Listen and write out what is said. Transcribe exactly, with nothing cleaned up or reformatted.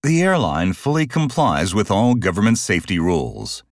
The airline fully complies with all government safety rules.